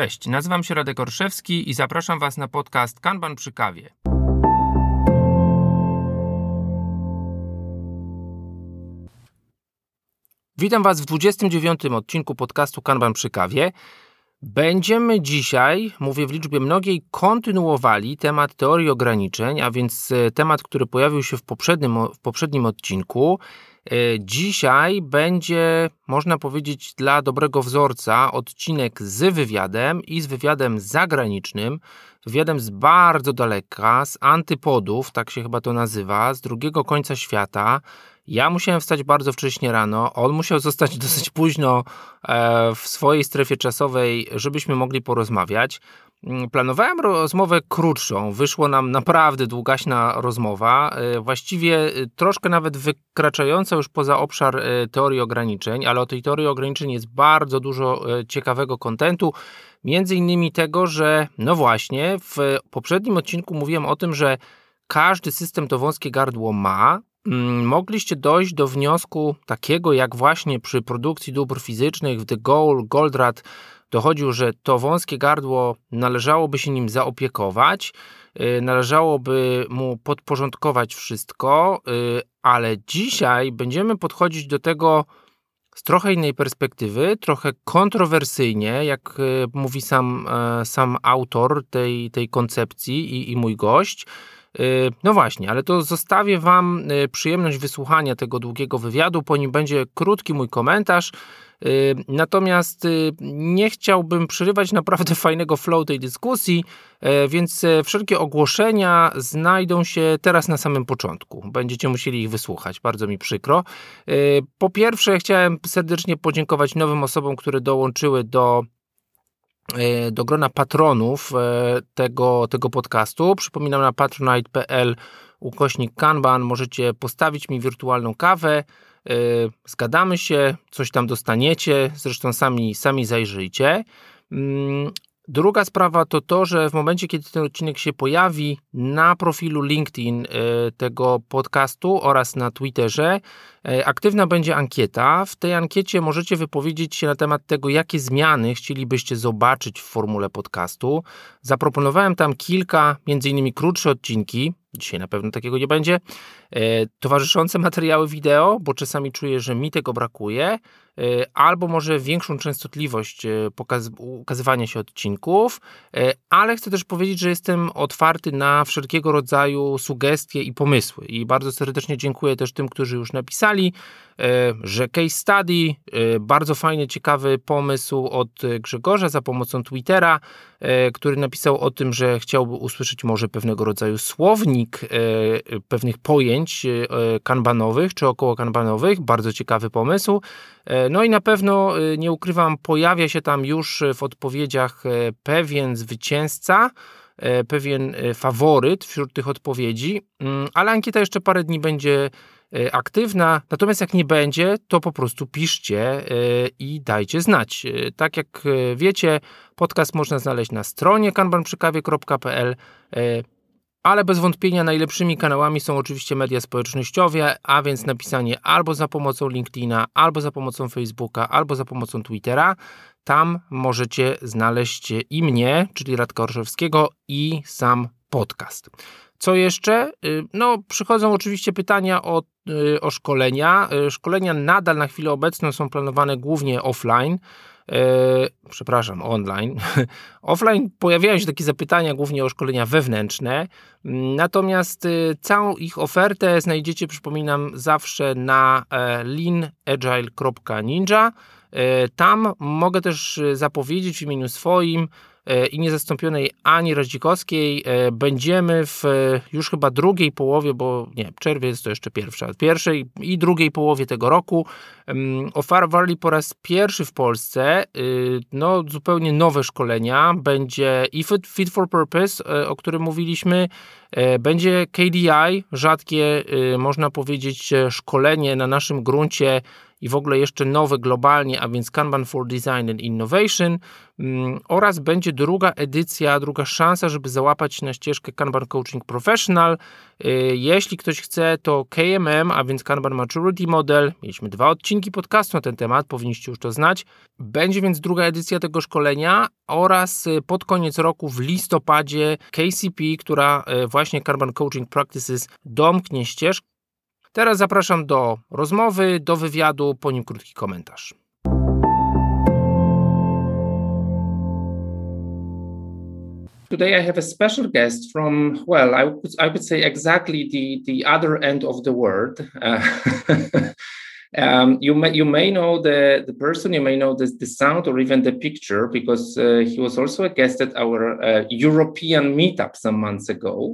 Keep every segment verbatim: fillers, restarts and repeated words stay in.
Cześć, nazywam się Radek Orszewski i zapraszam Was na podcast Kanban przy kawie. Witam Was w dwudziestym dziewiątym odcinku podcastu Kanban przy kawie. Będziemy dzisiaj, mówię w liczbie mnogiej, kontynuowali temat teorii ograniczeń, a więc temat, który pojawił się w poprzednim, w poprzednim odcinku. Dzisiaj będzie, można powiedzieć, dla dobrego wzorca odcinek z wywiadem i z wywiadem zagranicznym, wywiadem z bardzo daleka, z antypodów, tak się chyba to nazywa, z drugiego końca świata. Ja musiałem wstać bardzo wcześnie rano, on musiał zostać dosyć późno w swojej strefie czasowej, żebyśmy mogli porozmawiać. Planowałem rozmowę krótszą, wyszło nam naprawdę długaśna rozmowa, właściwie troszkę nawet wykraczająca już poza obszar teorii ograniczeń, ale o tej teorii ograniczeń jest bardzo dużo ciekawego kontentu, między innymi tego, że no właśnie w poprzednim odcinku mówiłem o tym, że każdy system to wąskie gardło ma. Mogliście dojść do wniosku takiego, jak właśnie przy produkcji dóbr fizycznych w De Gaulle, Goldratt dochodził, że to wąskie gardło należałoby się nim zaopiekować, należałoby mu podporządkować wszystko, ale dzisiaj będziemy podchodzić do tego z trochę innej perspektywy, trochę kontrowersyjnie, jak mówi sam, sam autor tej, tej koncepcji i, i mój gość. No właśnie, ale to zostawię Wam przyjemność wysłuchania tego długiego wywiadu, po nim będzie krótki mój komentarz, natomiast nie chciałbym przerywać naprawdę fajnego flow tej dyskusji, więc wszelkie ogłoszenia znajdą się teraz na samym początku. Będziecie musieli ich wysłuchać, bardzo mi przykro. Po pierwsze, chciałem serdecznie podziękować nowym osobom, które dołączyły do do grona patronów tego, tego podcastu. Przypominam, na patronite.pl ukośnik Kanban możecie postawić mi wirtualną kawę, zgadamy się, coś tam dostaniecie, zresztą sami, sami zajrzyjcie. Druga sprawa to to, że w momencie, kiedy ten odcinek się pojawi na profilu LinkedIn tego podcastu oraz na Twitterze, aktywna będzie ankieta. W tej ankiecie możecie wypowiedzieć się na temat tego, jakie zmiany chcielibyście zobaczyć w formule podcastu. Zaproponowałem tam kilka, między innymi krótsze odcinki, dzisiaj na pewno takiego nie będzie, towarzyszące materiały wideo, bo czasami czuję, że mi tego brakuje, albo może większą częstotliwość pokaz- ukazywania się odcinków, ale chcę też powiedzieć, że jestem otwarty na wszelkiego rodzaju sugestie i pomysły i bardzo serdecznie dziękuję też tym, którzy już napisali, że case study, bardzo fajny, ciekawy pomysł od Grzegorza za pomocą Twittera, który napisał o tym, że chciałby usłyszeć może pewnego rodzaju słownik pewnych pojęć kanbanowych czy około kanbanowych. Bardzo ciekawy pomysł. No i na pewno, nie ukrywam, pojawia się tam już w odpowiedziach pewien zwycięzca, pewien faworyt wśród tych odpowiedzi, ale ankieta jeszcze parę dni będzie aktywna, natomiast jak nie będzie, to po prostu piszcie i dajcie znać. Tak jak wiecie, podcast można znaleźć na stronie kanban przy kawie kropka p l, ale bez wątpienia najlepszymi kanałami są oczywiście media społecznościowe, a więc napisanie albo za pomocą LinkedIna, albo za pomocą Facebooka, albo za pomocą Twittera. Tam możecie znaleźć i mnie, czyli Radka Orszewskiego, i sam podcast. Co jeszcze? No, przychodzą oczywiście pytania o, o szkolenia. Szkolenia nadal na chwilę obecną są planowane głównie offline. Przepraszam, online. Offline pojawiają się takie zapytania głównie o szkolenia wewnętrzne, natomiast całą ich ofertę znajdziecie, przypominam, zawsze na lean agile kropka ninja. Tam mogę też zapowiedzieć w imieniu swoim i niezastąpionej Ani Radzikowskiej będziemy w już chyba drugiej połowie, bo nie, czerwiec to jeszcze pierwsza, pierwszej i drugiej połowie tego roku oferowali po raz pierwszy w Polsce no zupełnie nowe szkolenia. Będzie i Fit, Fit for Purpose, o którym mówiliśmy, będzie K D I, rzadkie, można powiedzieć, szkolenie na naszym gruncie, i w ogóle jeszcze nowe globalnie, a więc Kanban for Design and Innovation, oraz będzie druga edycja, druga szansa, żeby załapać się na ścieżkę Kanban Coaching Professional. Jeśli ktoś chce, to K M M, a więc Kanban Maturity Model. Mieliśmy dwa odcinki podcastu na ten temat, powinniście już to znać. Będzie więc druga edycja tego szkolenia oraz pod koniec roku w listopadzie K C P, która właśnie Kanban Coaching Practices domknie ścieżkę. Teraz zapraszam do rozmowy, do wywiadu, po nim krótki komentarz. Today I have a special guest from, well, I would, I would say exactly the, the other end of the world. Uh, um, you may you may know the, the person, you may know the, the sound or even the picture, because uh, he was also a guest at our uh, European meetup some months ago.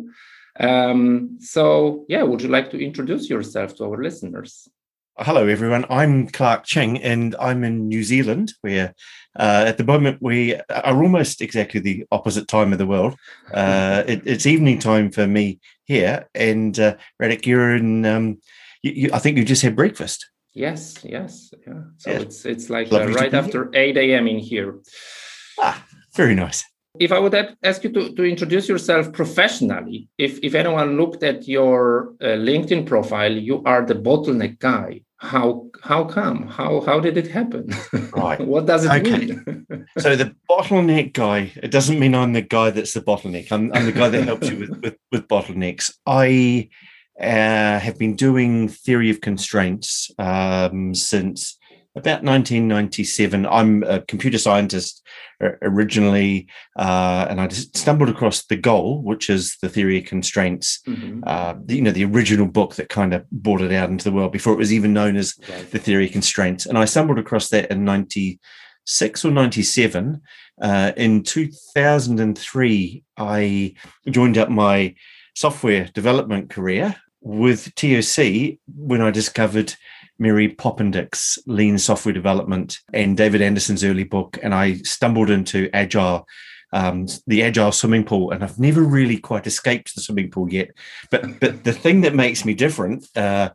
Um, so, yeah, would you like to introduce yourself to our listeners? Hello, everyone. I'm Clark Ching, and I'm in New Zealand, where uh, at the moment we are almost exactly the opposite time of the world. Uh, it, it's evening time for me here, and uh, Radek, you're in, um, you, you, I think you just had breakfast. Yes, yes. Yeah. So yeah. it's it's like uh, right after eight a.m. in here. Ah, very nice. If I would ask you to, to introduce yourself professionally, if, if anyone looked at your uh, LinkedIn profile, you are the bottleneck guy. How how come? How how did it happen? Right. What does it okay. mean? So the bottleneck guy, it doesn't mean I'm the guy that's the bottleneck. I'm, I'm the guy that helps you with, with, with bottlenecks. I uh, have been doing theory of constraints um, since about nineteen ninety-seven. I'm a computer scientist originally, uh, and I just stumbled across The Goal, which is the theory of constraints, mm-hmm. uh, you know, the original book that kind of brought it out into the world before it was even known as right. the theory of constraints. And I stumbled across that in ninety-six or ninety-seven. Uh, in two thousand three, I joined up my software development career with T O C when I discovered Mary Poppendik's Lean Software Development and David Anderson's early book, and I stumbled into Agile, um, the Agile swimming pool, and I've never really quite escaped the swimming pool yet. But but the thing that makes me different uh,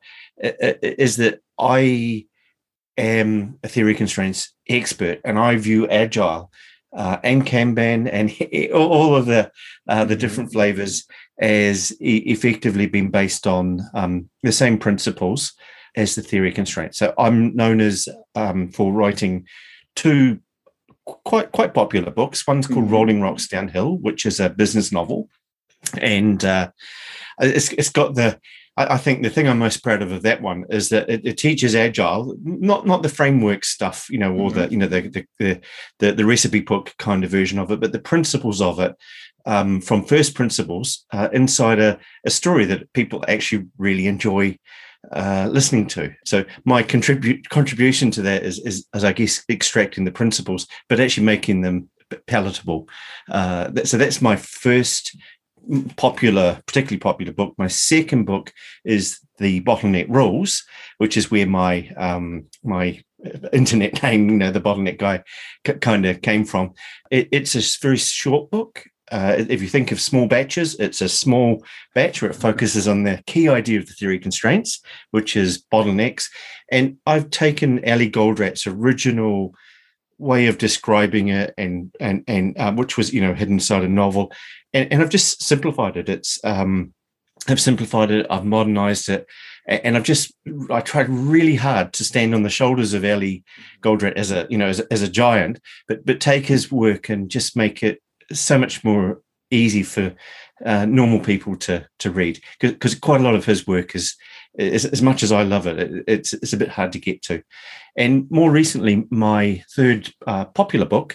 is that I am a theory constraints expert, and I view Agile uh, and Kanban and all of the uh, the different flavors as e- effectively being based on um, the same principles as the theory of constraints. So I'm known as um, for writing two quite quite popular books. One's called mm-hmm. Rolling Rocks Downhill, which is a business novel, and uh, it's it's got the. I, I think the thing I'm most proud of of that one is that it, it teaches Agile, not not the framework stuff, you know, or mm-hmm. the you know the, the the the the recipe book kind of version of it, but the principles of it. Um, from first principles uh, inside a, a story that people actually really enjoy uh, listening to. So my contribute contribution to that is, is, is, I guess, extracting the principles, but actually making them palatable. Uh, that, so that's my first popular, particularly popular book. My second book is The Bottleneck Rules, which is where my um, my internet name, you know, the Bottleneck Guy, c- kind of came from. It, it's a very short book. Uh, if you think of small batches, it's a small batch where it focuses on the key idea of the theory of constraints, which is bottlenecks. And I've taken Ali Goldrat's original way of describing it, and and and uh, which was you know hidden inside a novel, and, and I've just simplified it. It's um, I've simplified it, I've modernized it, and I've just I tried really hard to stand on the shoulders of Ali Goldrat as a you know as, as a giant, but but take his work and just make it so much more easy for uh, normal people to to read, because quite a lot of his work is, is as much as I love it, it, it's it's a bit hard to get to. And more recently, my third uh, popular book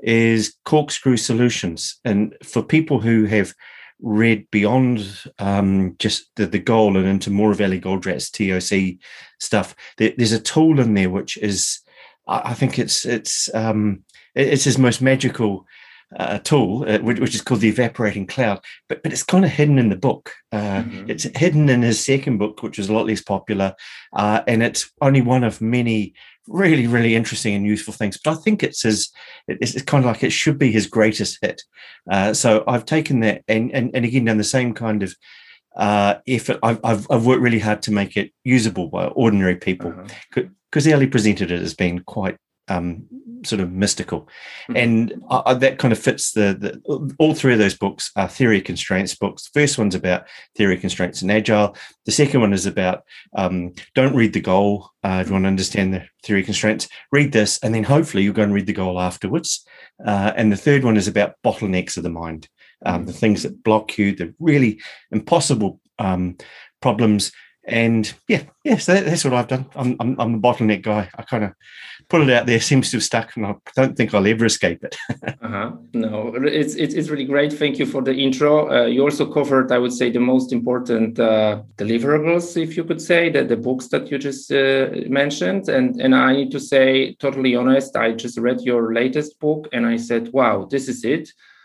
is Corkscrew Solutions, and for people who have read beyond um, just the, the goal and into more of Ali Goldrat's T O C stuff, there, there's a tool in there which is, I, I think it's it's um, it's his most magical Uh, tool, uh, which, which is called the Evaporating Cloud, but but it's kind of hidden in the book. Uh, mm-hmm. It's hidden in his second book, which is a lot less popular, uh, and it's only one of many really, really interesting and useful things. But I think it's his, it's, it's kind of like it should be his greatest hit. Uh, so I've taken that and, and and again done the same kind of uh, effort. I've, I've I've worked really hard to make it usable by ordinary people, uh-huh. because Ellie presented it as being quite um, sort of mystical. Mm-hmm. And uh, that kind of fits the, the, all three of those books are theory of constraints books. The first one's about theory of constraints and agile. The second one is about um, don't read the goal. Uh, if you want to understand the theory of constraints, read this, and then hopefully you'll go and read the goal afterwards. Uh, and the third one is about bottlenecks of the mind, um, mm-hmm. the things that block you, the really impossible um, problems. And yeah, yeah, so that, that's what I've done. I'm, I'm, I'm a bottleneck guy. I kind of put it out there, seems to have stuck, and I don't think I'll ever escape it. uh-huh. No, it's, it's it's really great. Thank you for the intro. Uh, you also covered, I would say, the most important uh, deliverables, if you could say, that the books that you just uh, mentioned. And and I need to say, totally honest, I just read your latest book, and I said, wow, this is it.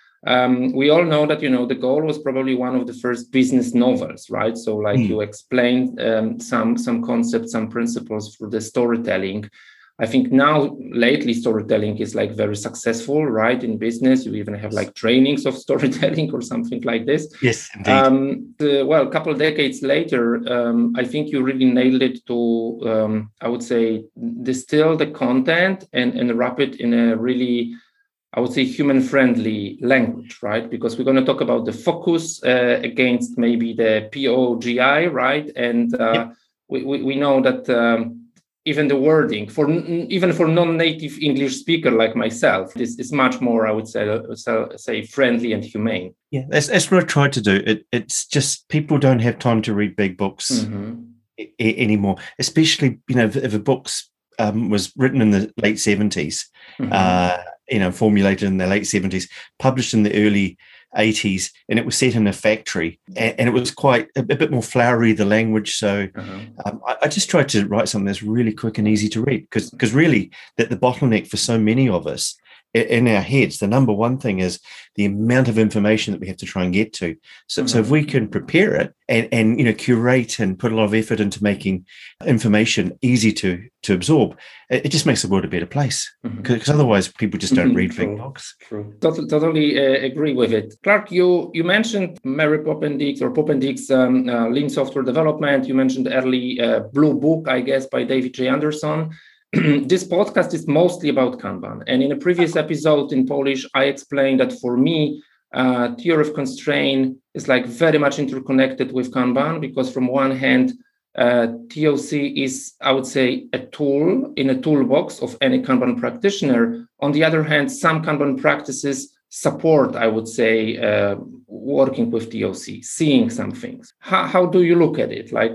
Um, we all know that, you know, The Goal was probably one of the first business novels, right? So like mm. you explained um, some some concepts, some principles for the storytelling. I think now lately storytelling is like very successful, right? In business, you even have like trainings of storytelling or something like this. Yes, indeed. Um, the, well, a couple of decades later, um, I think you really nailed it to, um, I would say, distill the content and, and wrap it in a really, I would say, human-friendly language, right? Because we're going to talk about the focus uh, against maybe the P O G I, right? And uh, yep. we, we we know that um, even the wording for even for non-native English speaker like myself, is is much more, I would say, say friendly and humane. Yeah, that's that's what I tried to do. It it's just people don't have time to read big books mm-hmm. I- anymore, especially you know if, if a book's um, was written in the late seventies. Mm-hmm. Uh, you know, formulated in the late seventies, published in the early eighties, and it was set in a factory, and, and it was quite a, a bit more flowery, the language. So uh-huh. um, I, I just tried to write something that's really quick and easy to read, because because really that the bottleneck for so many of us in our heads, the number one thing is the amount of information that we have to try and get to. So, mm-hmm. so if we can prepare it and, and, you know, curate and put a lot of effort into making information easy to, to absorb, it, it just makes the world a better place. Because mm-hmm. otherwise people just don't mm-hmm. read big books. True. Totally, totally uh, agree with it. Clark, you, you mentioned Mary Poppendieck's or Poppendieck's um, uh, Lean Software Development. You mentioned early uh, Blue Book, I guess, by David J. Anderson. This podcast is mostly about Kanban. And in a previous episode in Polish, I explained that for me, uh, theory of constraint is like very much interconnected with Kanban, because from one hand, uh, T O C is, I would say, a tool in a toolbox of any Kanban practitioner. On the other hand, some Kanban practices support, I would say, uh, working with T O C, seeing some things. How, how do you look at it? Like,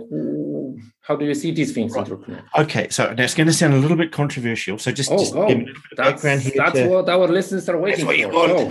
how do you see these things right. interconnect? Okay, so now it's going to sound a little bit controversial. So just, oh, just oh, give me a little bit of background here. That's to, what our listeners are waiting that's what for. You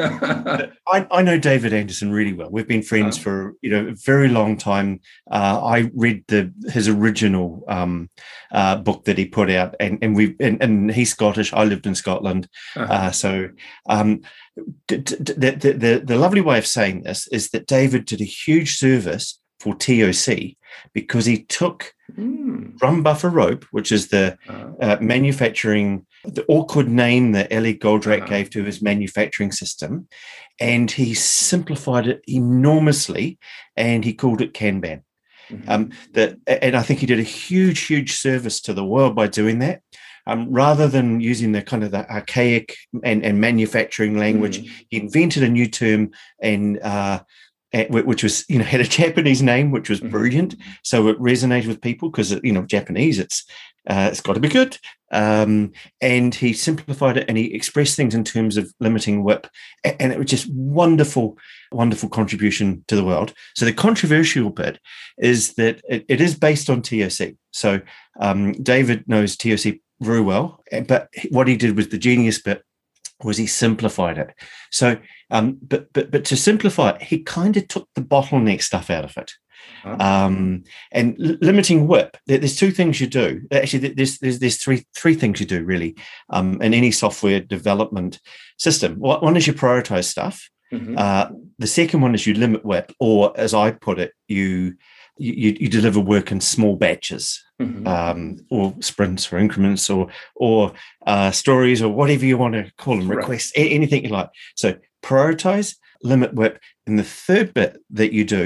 want. I, I know David Anderson really well. We've been friends uh, for you know a very long time. Uh, I read the his original um, uh, book that he put out, and and we and, and he's Scottish. I lived in Scotland, uh-huh. uh, so. Um, the, the, the, the lovely way of saying this is that David did a huge service for T O C because he took mm. drum buffer rope, which is the uh, uh, manufacturing, the awkward name that Ellie Goldratt uh, gave to his manufacturing system, and he simplified it enormously, and he called it Kanban. Mm-hmm. Um, that, and I think he did a huge, huge service to the world by doing that. Um, rather than using the kind of the archaic and, and manufacturing language, mm. he invented a new term, and uh, which was, you know, had a Japanese name, which was brilliant. So it resonated with people because, you know, Japanese, it's uh, it's got to be good. Um, and he simplified it, and he expressed things in terms of limiting W I P, and it was just wonderful, wonderful contribution to the world. So the controversial bit is that it, it is based on T O C. So um, David knows T O C very well, but what he did was the genius bit was he simplified it. So, um, but but but to simplify it, he kind of took the bottleneck stuff out of it. Uh-huh. Um, and l- limiting W I P, there's two things you do. Actually, there's there's there's three three things you do really um, in any software development system. One is you prioritize stuff. Mm-hmm. Uh, the second one is you limit W I P, or as I put it, you you, you deliver work in small batches. Mm-hmm. Um, or sprints or increments or or uh, stories or whatever you want to call them, requests, right. a- anything you like. So prioritize, limit W I P. And the third bit that you do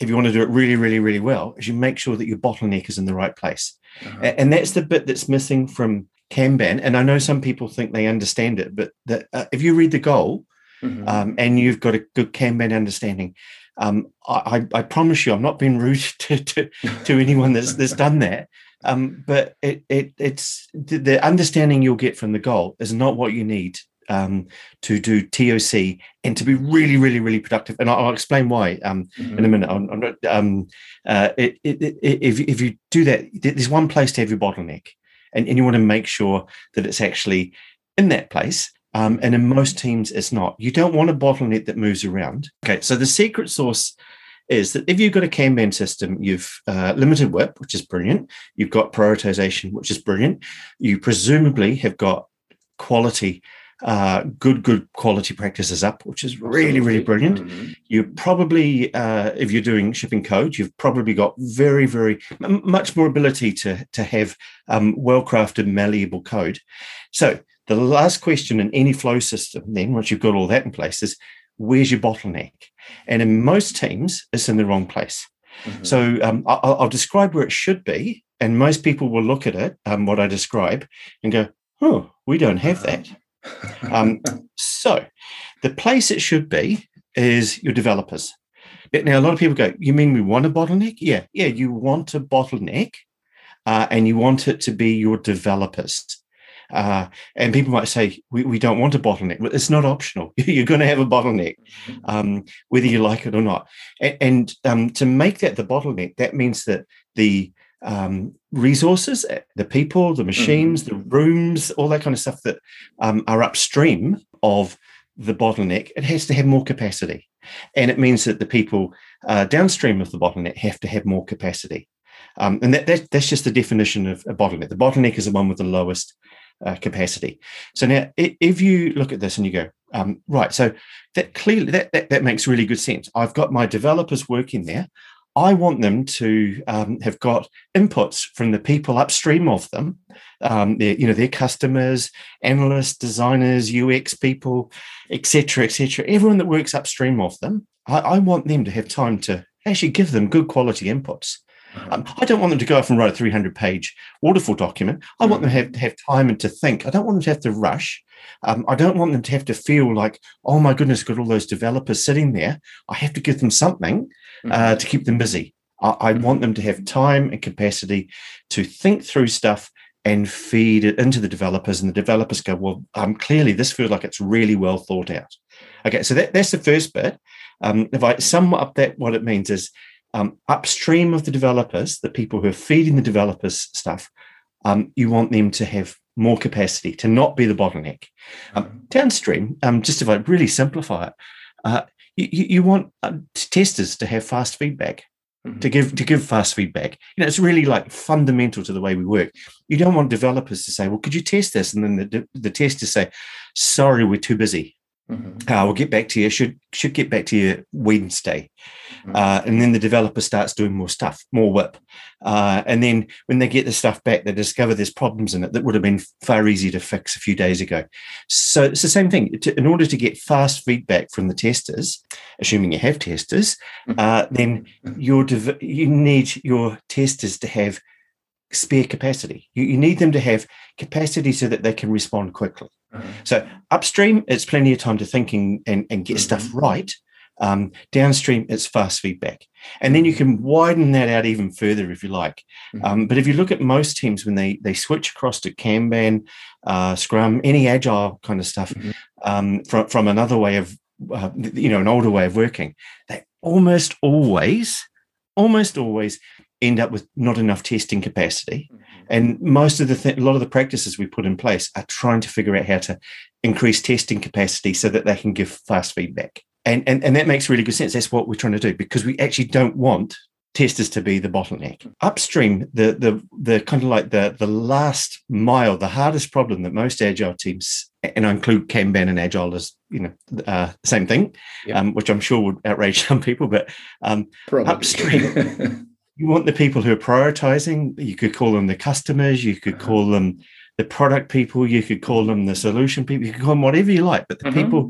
if you want to do it really, really, really well, is you make sure that your bottleneck is in the right place. Uh-huh. And that's the bit that's missing from Kanban. And I know some people think they understand it, but the, uh, if you read the goal mm-hmm. um, and you've got a good Kanban understanding, um, I, I promise you, I'm not being rude to to, to anyone that's that's done that. Um, but it it it's the, the understanding you'll get from the goal is not what you need um, to do T O C and to be really, really, really productive. And I'll, I'll explain why um, mm-hmm. in a minute. I'm, I'm not, um, uh, it, it, it, if if you do that, there's one place to have your bottleneck, and, and you want to make sure that it's actually in that place. Um, and in most teams, it's not. You don't want a bottleneck that moves around. Okay, so the secret sauce is that if you've got a Kanban system, you've uh, limited W I P, which is brilliant. You've got prioritization, which is brilliant. You presumably have got quality, uh, good, good quality practices up, which is really, really brilliant. Mm-hmm. You probably, uh, if you're doing shipping code, you've probably got very, very m- much more ability to, to have um, well-crafted, malleable code. So the last question in any flow system, then, once you've got all that in place, is where's your bottleneck? And in most teams, it's in the wrong place. Mm-hmm. So um, I'll, I'll describe where it should be, and most people will look at it, um, what I describe, and go, oh, we don't have that. um, so the place it should be is your developers. Now, a lot of people go, you mean we want a bottleneck? Yeah, yeah, you want a bottleneck, uh, and you want it to be your developers. Uh, and people might say, we, we don't want a bottleneck. Well, it's not optional. You're going to have a bottleneck, um, whether you like it or not. And, and um, to make that the bottleneck, that means that the um, resources, the people, the machines, mm-hmm. the rooms, all that kind of stuff that um, are upstream of the bottleneck, it has to have more capacity. And it means that the people uh, downstream of the bottleneck have to have more capacity. Um, and that, that that's just the definition of a bottleneck. The bottleneck is the one with the lowest Uh, capacity. So now, if you look at this and you go, um, right, so that clearly that, that that makes really good sense. I've got my developers working there. I want them to um, have got inputs from the people upstream of them, um, their, you know, their customers, analysts, designers, U X people, et cetera, et cetera. Everyone that works upstream of them, I, I want them to have time to actually give them good quality inputs. Um, I don't want them to go off and write a three hundred page waterfall document. I want them to have, to have time and to think. I don't want them to have to rush. Um, I don't want them to have to feel like, oh, my goodness, got all those developers sitting there. I have to give them something uh, to keep them busy. I, I want them to have time and capacity to think through stuff and feed it into the developers. And the developers go, well, um, clearly this feels like it's really well thought out. Okay, so that, that's the first bit. Um, if I sum up that, what it means is, Um, upstream of the developers, the people who are feeding the developers stuff, um, you want them to have more capacity, to not be the bottleneck. Um, downstream, um, just if I really simplify it, uh, you, you want uh, testers to have fast feedback, mm-hmm. to give to give fast feedback. You know, it's really like fundamental to the way we work. You don't want developers to say, well, could you test this? And then the, the testers say, sorry, we're too busy. Mm-hmm. Uh, we'll get back to you. Should should get back to you Wednesday, mm-hmm. uh, and then the developer starts doing more stuff, more W I P, uh, and then when they get the stuff back, they discover there's problems in it that would have been far easier to fix a few days ago. So it's the same thing. To, in order to get fast feedback from the testers, assuming you have testers, uh, then your dev- you need your testers to have spare capacity. You, you need them to have capacity so that they can respond quickly. Mm-hmm. So upstream, it's plenty of time to think and, and, and get mm-hmm. stuff right. Um, downstream, it's fast feedback. And then you can widen that out even further if you like. Mm-hmm. Um, but if you look at most teams, when they they switch across to Kanban, uh, Scrum, any agile kind of stuff, mm-hmm. um, from, from another way of, uh, you know, an older way of working, they almost always, almost always end up with not enough testing capacity. Mm-hmm. And most of the th- a lot of the practices we put in place are trying to figure out how to increase testing capacity so that they can give fast feedback. And, and, and that makes really good sense. That's what we're trying to do, because we actually don't want testers to be the bottleneck. Upstream, the the the kind of like the, the last mile, the hardest problem that most agile teams, and I include Kanban and agile as, you know, uh, same thing, yep. um, which I'm sure would outrage some people, but um, upstream, you want the people who are prioritizing. You could call them the customers, you could call them the product people, you could call them the solution people, you could call them whatever you like, but the mm-hmm. people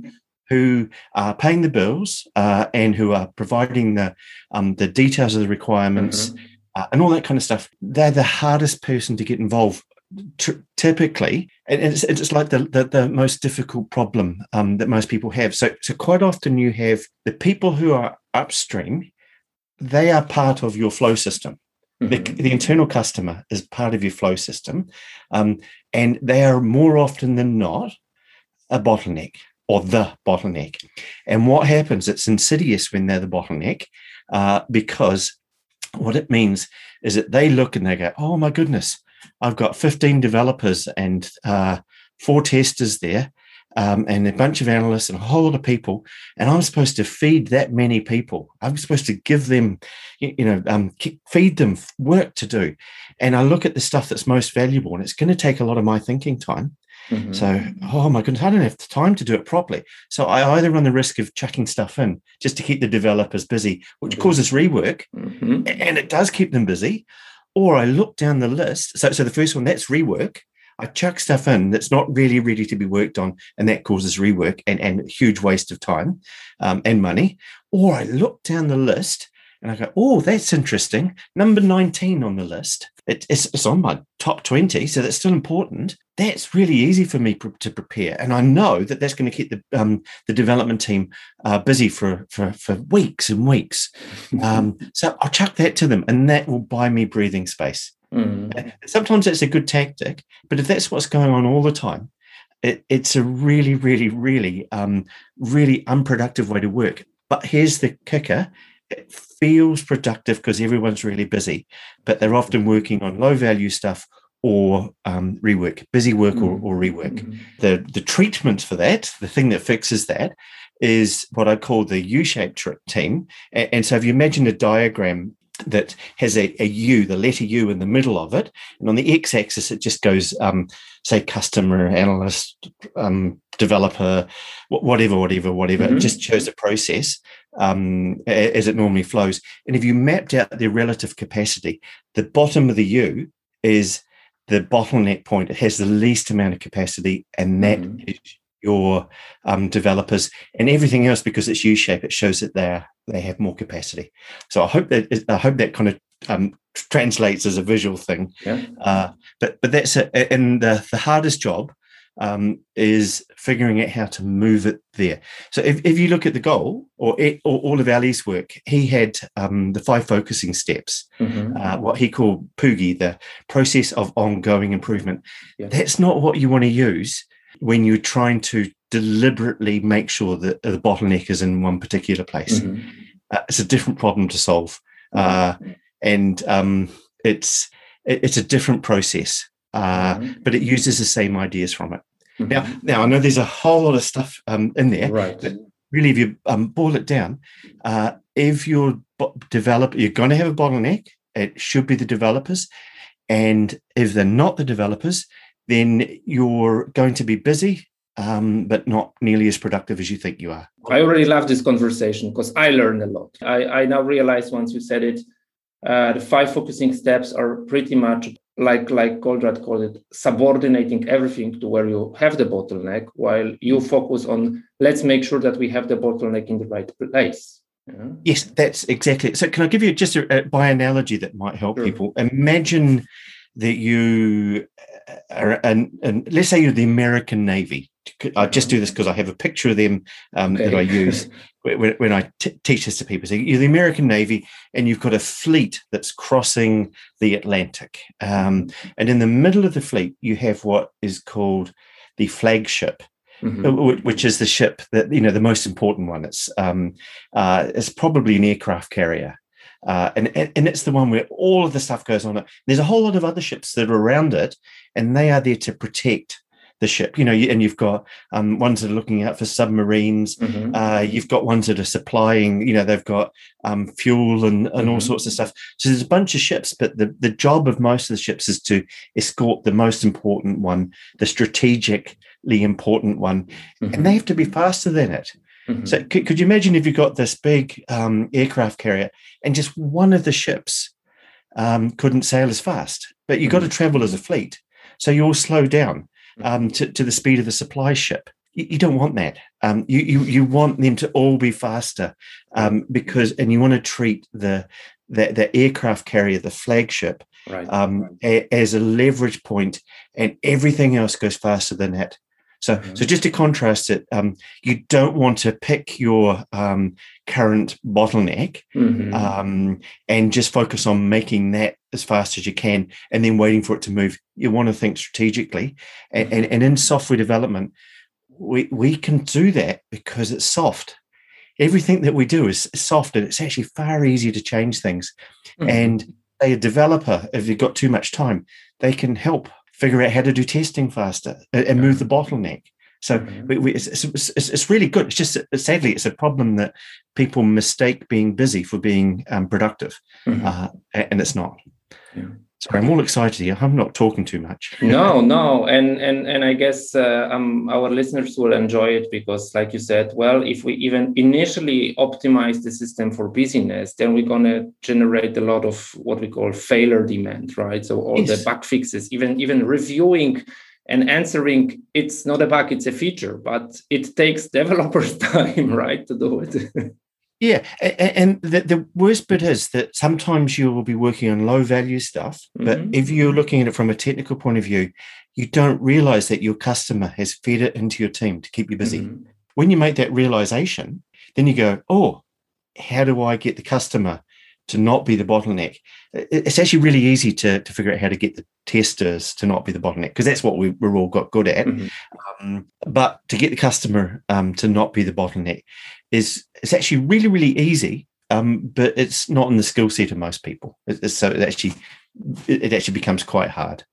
who are paying the bills uh, and who are providing the um, the details of the requirements mm-hmm. uh, and all that kind of stuff. They're the hardest person to get involved. T- typically, and it's, it's like the, the, the most difficult problem um, that most people have. So, so quite often you have the people who are upstream, they are part of your flow system. Mm-hmm. The, the internal customer is part of your flow system, um, and they are more often than not a bottleneck or the bottleneck. And what happens, it's insidious when they're the bottleneck uh, because what it means is that they look and they go, oh my goodness, I've got fifteen developers and uh, four testers there um, and a bunch of analysts and a whole lot of people, and I'm supposed to feed that many people. I'm supposed to give them, you know, um, feed them work to do. And I look at the stuff that's most valuable, and it's going to take a lot of my thinking time. Mm-hmm. So, oh my goodness, I don't have the time to do it properly. So I either run the risk of chucking stuff in just to keep the developers busy, which mm-hmm. causes rework, mm-hmm. and it does keep them busy. Or I look down the list. So, so the first one, that's rework. I chuck stuff in that's not really ready to be worked on, and that causes rework and, and huge waste of time um, and money. Or I look down the list and I go, oh, that's interesting. Number nineteen on the list. It, it's, it's on my top twenty, so that's still important. That's really easy for me pr- to prepare. And I know that that's going to keep the um, the development team uh, busy for, for, for weeks and weeks. Um, so I'll chuck that to them, and that will buy me breathing space. Mm. Sometimes that's a good tactic, but if that's what's going on all the time, it, it's a really, really, really, um, really unproductive way to work. But here's the kicker. It feels productive because everyone's really busy, but they're often working on low-value stuff or um, rework, busy work or, or rework. Mm-hmm. The, the treatment for that, the thing that fixes that, is what I call the U-shaped tr- team. And, and so if you imagine a diagram that has a, a U, the letter U in the middle of it, and on the x-axis it just goes, um, say, customer, analyst, um, developer, whatever, whatever, whatever. Mm-hmm. It just shows the process um, as it normally flows. And if you mapped out their relative capacity, the bottom of the U is the bottleneck point. It has the least amount of capacity, and that mm-hmm. is your um, developers, and everything else, because it's U-shaped, it shows that they they have more capacity. So I hope that I hope that kind of um, translates as a visual thing. Yeah. Uh, but but that's it. And the, the hardest job um, is figuring out how to move it there. So if, if you look at the goal or, it, or all of Ali's work, he had um, the five focusing steps, mm-hmm. uh, what he called POOGI, the process of ongoing improvement. Yeah. That's not what you want to use when you're trying to deliberately make sure that the bottleneck is in one particular place. Mm-hmm. Uh, it's a different problem to solve. Uh, and um, it's it's a different process, uh, mm-hmm. but it uses the same ideas from it. Mm-hmm. Now, now, I know there's a whole lot of stuff um, in there, right. but really, if you um, boil it down, uh, if you're bo- develop, you're going to have a bottleneck, it should be the developers. And if they're not the developers, then you're going to be busy, um, but not nearly as productive as you think you are. I already love this conversation because I learned a lot. I, I now realize once you said it, uh, the five focusing steps are pretty much like, like Goldratt called it, subordinating everything to where you have the bottleneck, while you focus on, let's make sure that we have the bottleneck in the right place. Yeah. Yes, that's exactly it. So can I give you just a, a by analogy that might help sure. people? Imagine that you are, and, and let's say you're the American Navy. I just do this because I have a picture of them um, okay. that I use when, when I t- teach this to people. So you're the American Navy, and you've got a fleet that's crossing the Atlantic. Um, and in the middle of the fleet, you have what is called the flagship, mm-hmm. which is the ship that, you know, the most important one. It's um, uh, it's probably an aircraft carrier. Uh, and, and it's the one where all of the stuff goes on it. There's a whole lot of other ships that are around it, and they are there to protect the ship. You know, and you've got um, ones that are looking out for submarines. Mm-hmm. Uh, you've got ones that are supplying, you know, they've got um, fuel and, and mm-hmm. all sorts of stuff. So there's a bunch of ships, but the, the job of most of the ships is to escort the most important one, the strategically important one, mm-hmm. and they have to be faster than it. Mm-hmm. So could, could you imagine if you got this big um, aircraft carrier and just one of the ships um, couldn't sail as fast, but you mm-hmm. got to travel as a fleet. So you all slow down um, to, to the speed of the supply ship. you, you don't want that. Um, you, you you want them to all be faster, um, because and you want to treat the the, the aircraft carrier, the flagship, right. um, a, as a leverage point, and everything else goes faster than that. So, mm-hmm. so just to contrast it, um, you don't want to pick your um, current bottleneck mm-hmm. um, and just focus on making that as fast as you can and then waiting for it to move. You want to think strategically. And, mm-hmm. and, and in software development, we, we can do that because it's soft. Everything that we do is soft, and it's actually far easier to change things. Mm-hmm. And a developer, if you've got too much time, they can help figure out how to do testing faster and move the bottleneck. So mm-hmm. we, we, it's, it's, it's really good. It's just, sadly, it's a problem that people mistake being busy for being um, productive, mm-hmm. uh, and it's not. Yeah. Sorry, I'm all excited here. I'm not talking too much. no, no, and and and I guess uh, um, our listeners will enjoy it because, like you said, well, if we even initially optimize the system for busyness, then we're going to generate a lot of what we call failure demand, right? So all yes. the bug fixes, even even reviewing and answering, it's not a bug, it's a feature, but it takes developers time, right, to do it. Yeah, and the, the worst bit is that sometimes you will be working on low value stuff, but mm-hmm. if you're looking at it from a technical point of view, you don't realize that your customer has fed it into your team to keep you busy. Mm-hmm. When you make that realization, then you go, oh, how do I get the customer to not be the bottleneck? It's actually really easy to, to figure out how to get the testers to not be the bottleneck, because that's what we, we're all got good at. Mm-hmm. Um, but to get the customer um, to not be the bottleneck is it's actually really, really easy, um, but it's not in the skill set of most people. It, so it actually it actually becomes quite hard.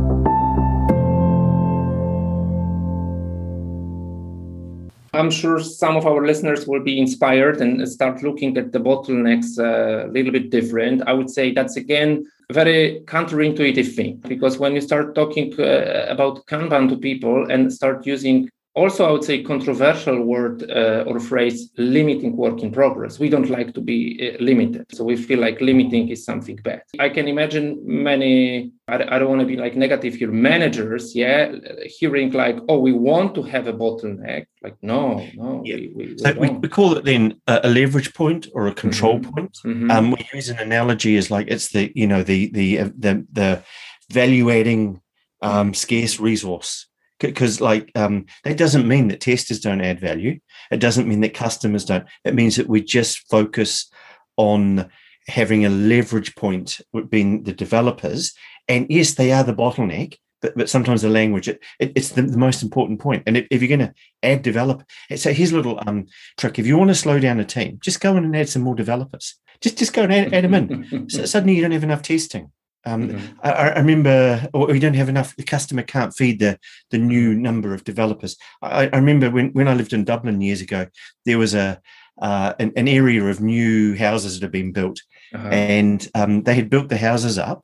I'm sure some of our listeners will be inspired and start looking at the bottlenecks a little bit different. I would say that's, again, a very counterintuitive thing, because when you start talking uh, about Kanban to people and start using also, I would say, controversial word uh, or phrase, limiting work in progress. We don't like to be uh, limited. So we feel like limiting is something bad. I can imagine many, I, I don't want to be like negative here, managers, yeah, hearing like, oh, we want to have a bottleneck. Like, no, no. Yeah. We, we, we, so we, we call it then a, a leverage point or a control mm-hmm. point. Mm-hmm. Um, we use an analogy as like it's the, you know, the, the, uh, the, the value-adding um, scarce resource. Because like um, that doesn't mean that testers don't add value. It doesn't mean that customers don't. It means that we just focus on having a leverage point, being the developers. And yes, they are the bottleneck, but, but sometimes the language, it, it, it's the, the most important point. And if, if you're going to add develop, so here's a little um, trick. If you want to slow down a team, just go in and add some more developers. Just, just go and add, add them in. So suddenly you don't have enough testing. Um, mm-hmm. I, I remember, or we don't have enough, the customer can't feed the, the new number of developers. I, I remember when, when I lived in Dublin years ago, there was a uh, an, an area of new houses that had been built, uh-huh. and um, they had built the houses up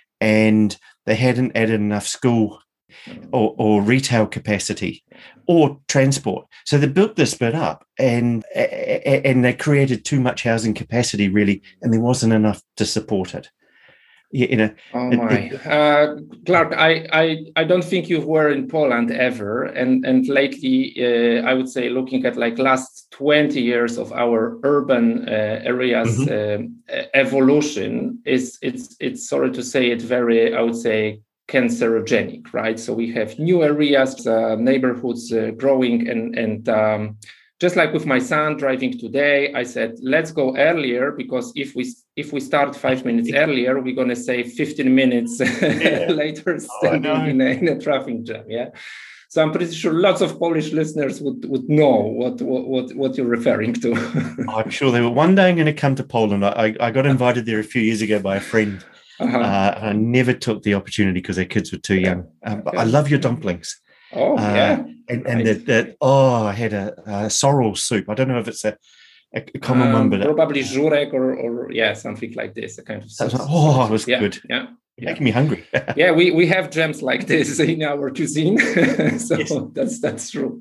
and they hadn't added enough school or, or retail capacity or transport. So they built this bit up and, and they created too much housing capacity, really, and there wasn't enough to support it. You know, oh my, uh, Clark, I, I, I don't think you were in Poland ever, and and lately, uh, I would say, looking at like last twenty years of our urban uh, areas mm-hmm. uh, evolution is it's it's sorry to say it very, I would say, cancerogenic, right? So we have new areas, uh, neighborhoods uh, growing, and and. Um, Just like with my son driving today, I said, let's go earlier, because if we if we start five minutes earlier, we're going to save fifteen minutes yeah. later standing oh, in, a, in a traffic jam. Yeah. So I'm pretty sure lots of Polish listeners would, would know what, what, what you're referring to. I'm sure they were. One day I'm going to come to Poland. I, I got invited there a few years ago by a friend. Uh-huh. Uh, and I never took the opportunity because their kids were too young. Um, but I love your dumplings. Oh, uh, yeah. And, and nice. the, the, oh, I had a, a sorrel soup. I don't know if it's a, a common um, one, but probably żurek or, or, yeah, something like this. A kind of like, oh, it was yeah, good. Yeah. You're making me hungry. yeah, we, we have gems like this in our cuisine. so yes. that's that's true.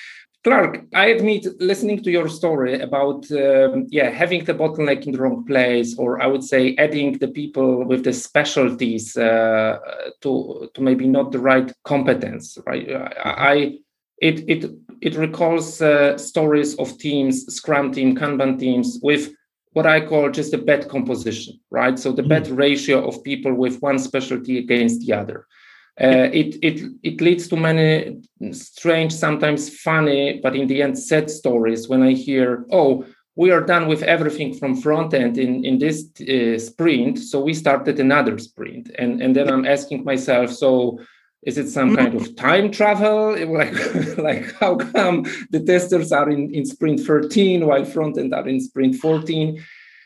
Clark, I admit, listening to your story about um, yeah having the bottleneck in the wrong place, or I would say adding the people with the specialties uh, to to maybe not the right competence, right? I, I it it it recalls uh, stories of teams, Scrum team, Kanban teams with what I call just a bad composition, right? So the mm. bad ratio of people with one specialty against the other. Uh, it it it leads to many strange, sometimes funny, but in the end sad stories when I hear, oh, we are done with everything from front end in, in this uh, sprint, so we started another sprint. And, and then I'm asking myself, so is it some kind of time travel? Like, like how come the testers are in, in sprint thirteen while front end are in sprint fourteen?